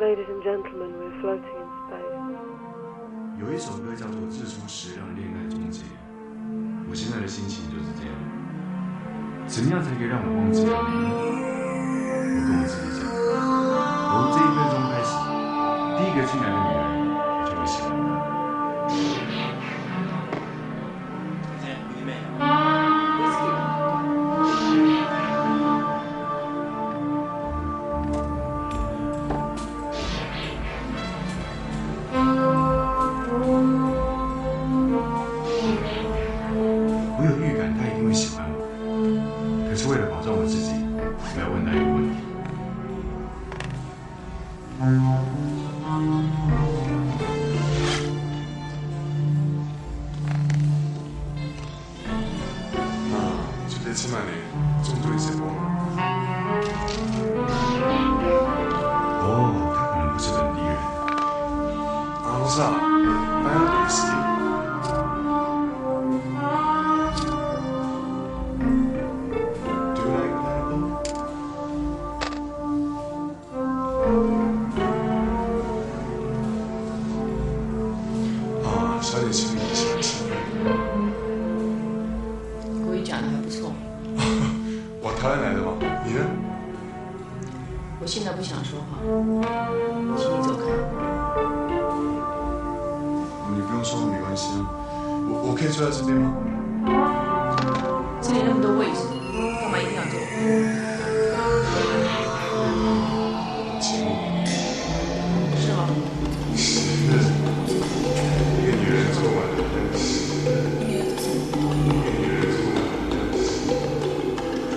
Ladies and gentlemen, we're floating in space. 有一首歌叫做《日出时让恋爱终结》，我现在的心情就是这样。怎么样才可以让我忘记了你呢？我跟我自己讲，由这1分钟开始，第一个进来的女人，我就会喜欢她。我有预感他一定会喜欢我，可是为了保障我自己，我要问他一个问题。 주대치만에 정도 이제 뭐. 哦，他可能不是本地人。 사 빨간 위스키. Do you like pineapple? 아, 샤리 지금 이시라시. 国语讲的还不错。 我台湾来的嘛，你呢？ 我现在不想说话，请你走开。 你不用说，没关系啊。我可以坐在这边吗？ 这里那么多位置，干嘛一定要坐？ 请我。 是吗？ 是。一个女人坐满了真是。一个女人坐满了真是。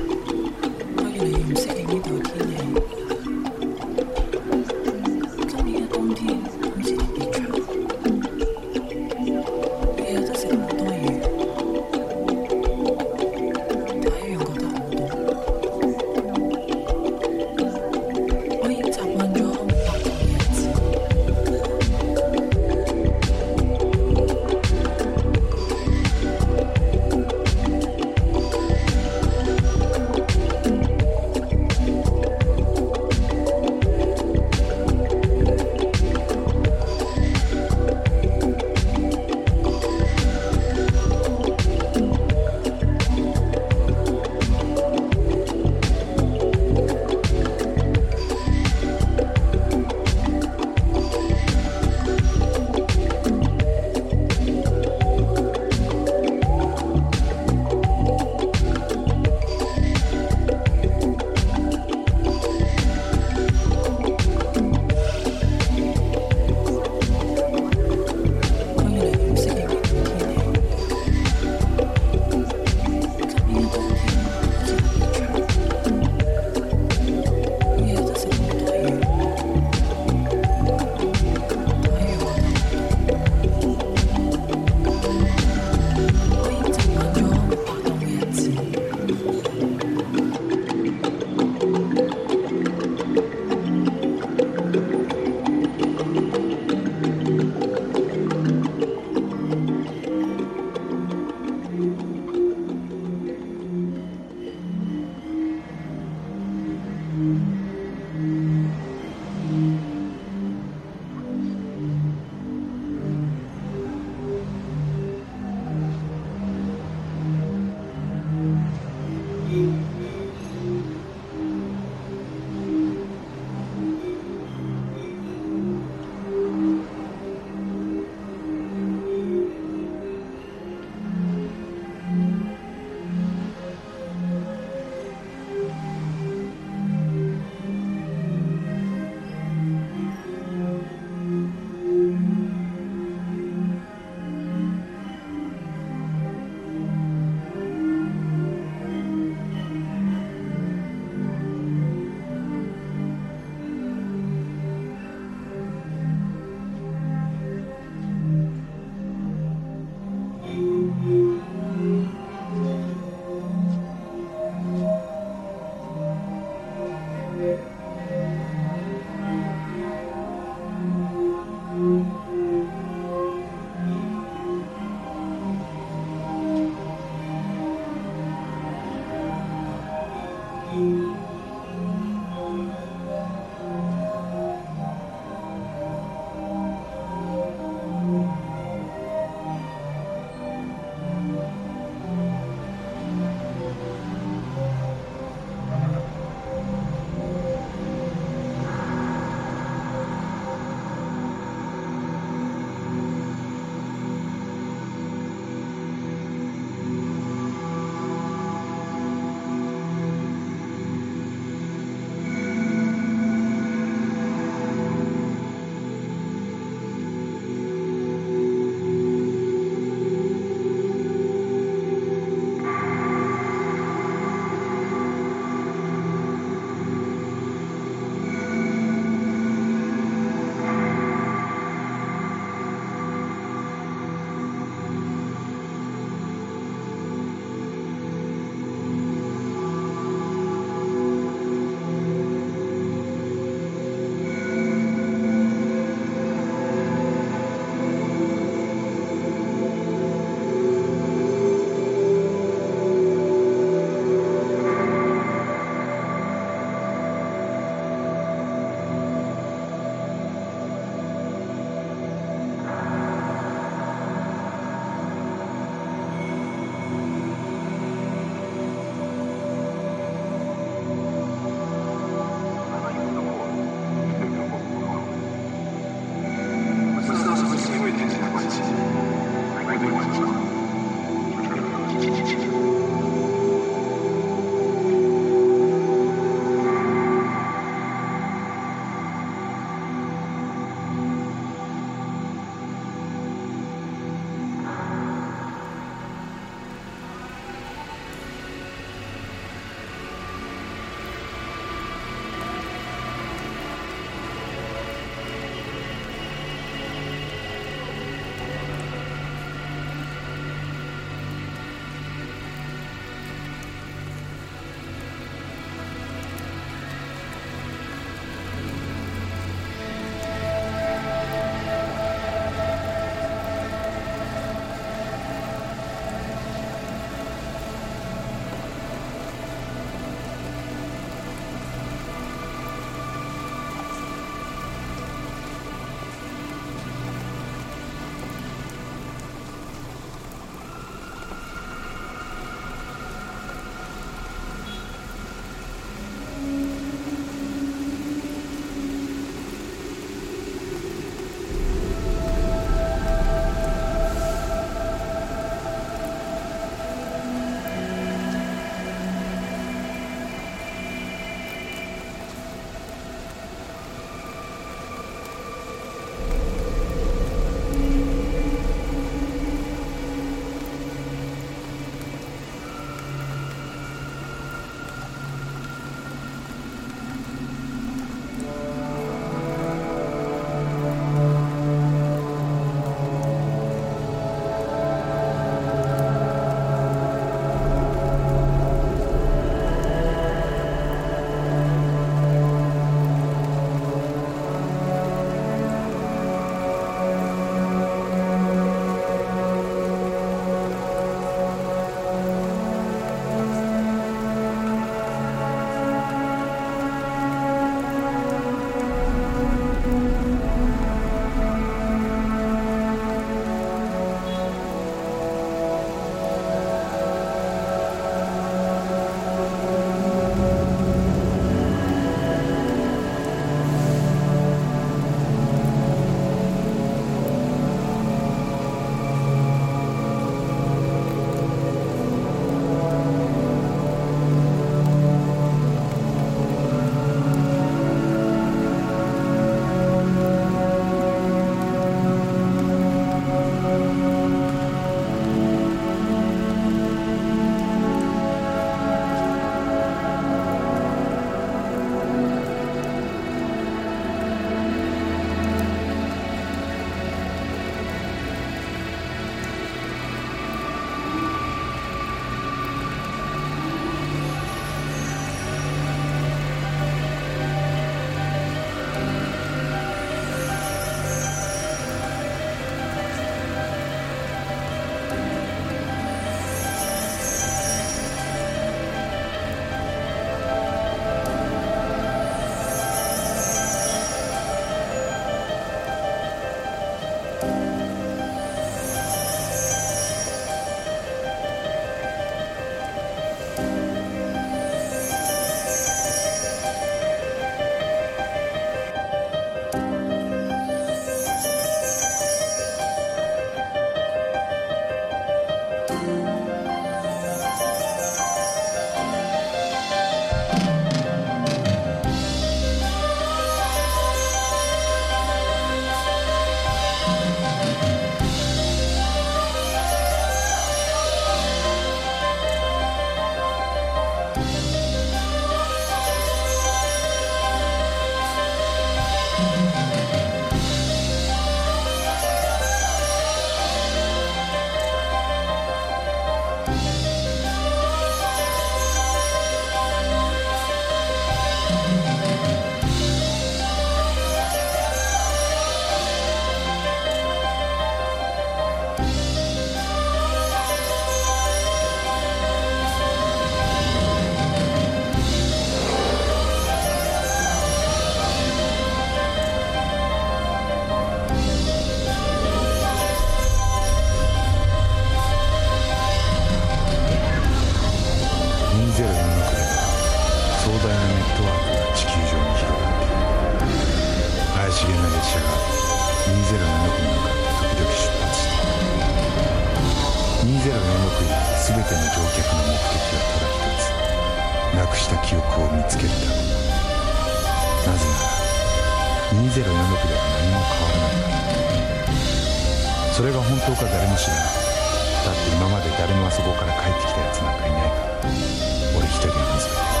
全ての乗客の目的はただ一つ、なくした記憶を見つけるため。なぜなら2046では何も変わらないから。それが本当か誰も知らない。だって今まで誰もあそこから帰ってきたやつなんかいないから。俺一人の水辺で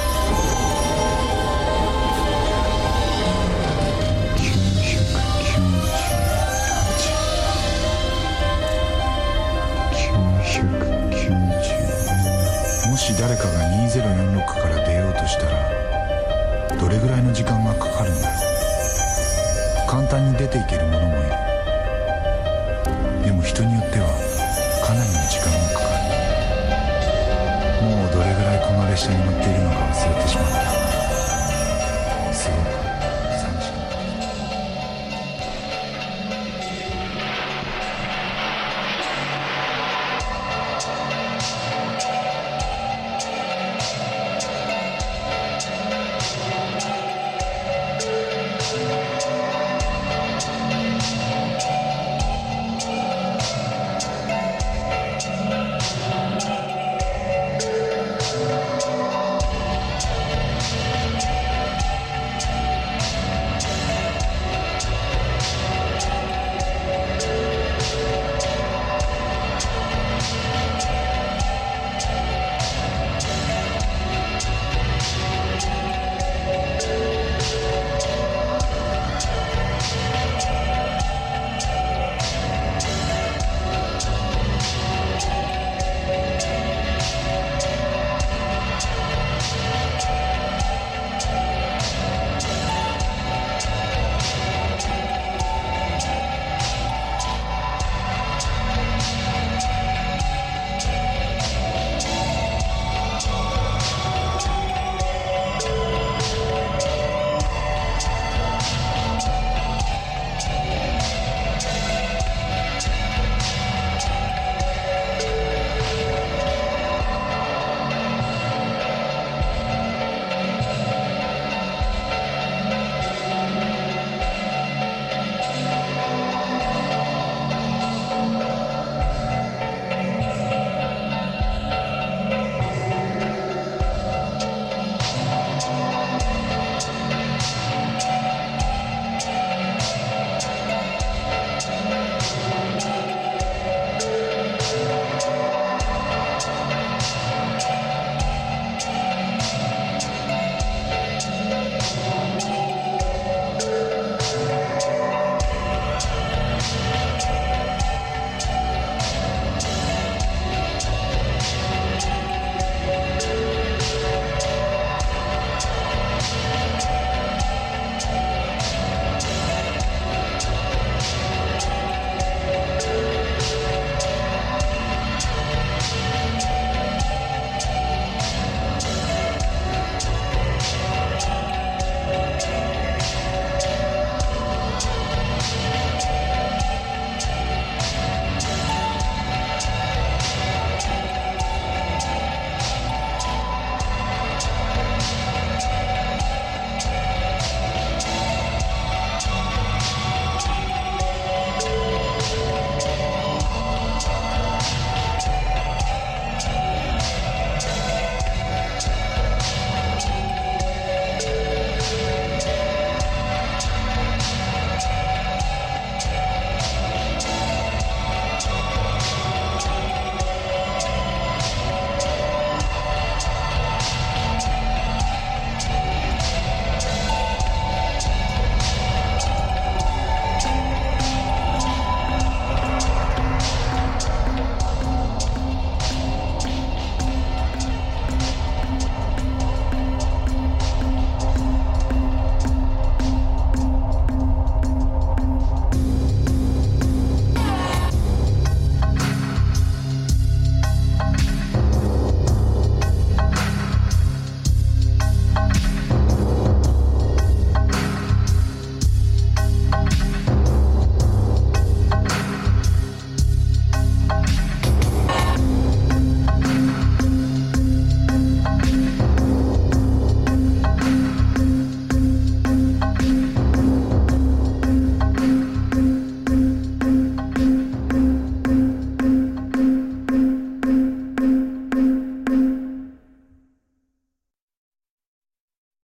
もし誰かが2046から出ようとしたらどれぐらいの時間がかかるんだろう。簡単に出ていける者もいる。でも人によってはかなりの時間がかかる。もうどれぐらいこの列車に乗っているのか忘れてしまった。